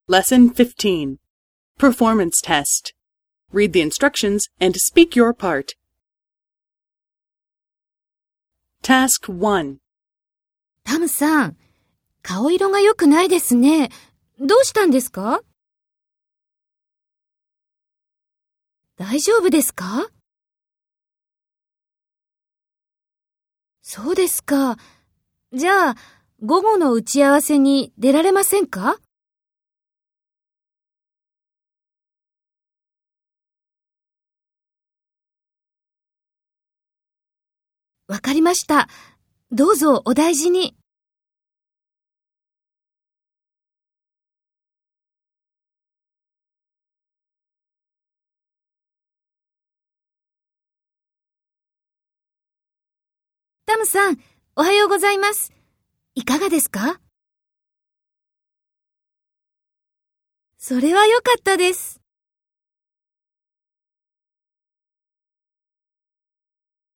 Lesson 15. Performance Test. Read the instructions and speak your part. Task 1. タムさん、顔色が良くないですね。どうしたんですか？大丈夫ですか？そうですか。じゃあ、午後の打ち合わせに出られませんか？わかりました。どうぞお大事に。タムさん、おはようございます。いかがですか？それは良かったです。